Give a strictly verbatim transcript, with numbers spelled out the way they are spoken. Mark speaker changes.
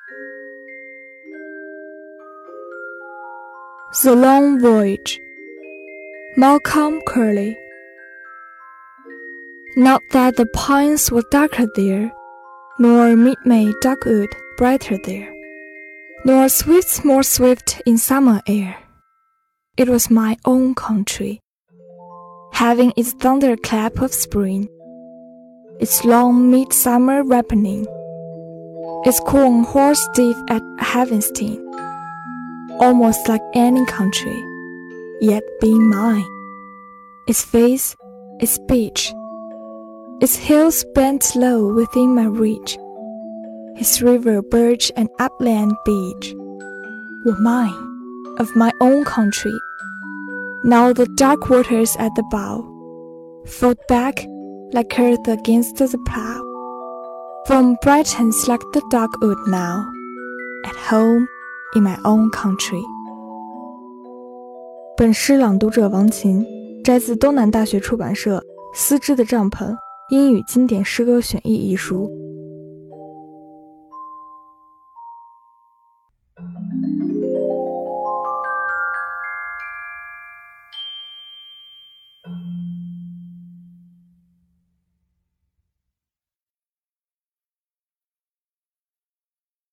Speaker 1: The Long Voyage, Malcolm Curley. Not that the pines were darker there, nor mid-May dogwood brighter there, nor swifts more swift in summer air. It was my own country, having its thunderclap of spring, its long midsummer ripening, its corn horse stiff at harvesting, almost like any country, yet being mine. Its face, its speech, its hills bent low within my reach, its river birch and upland beach, were mine, of my own country. Now the dark waters at the bow fold back like earth against the plow. From brightens like the dogwood now, at home in my own country. 本诗朗读者王琴，摘自东南大学出版社《丝织的帐篷英语经典诗歌选译》一书。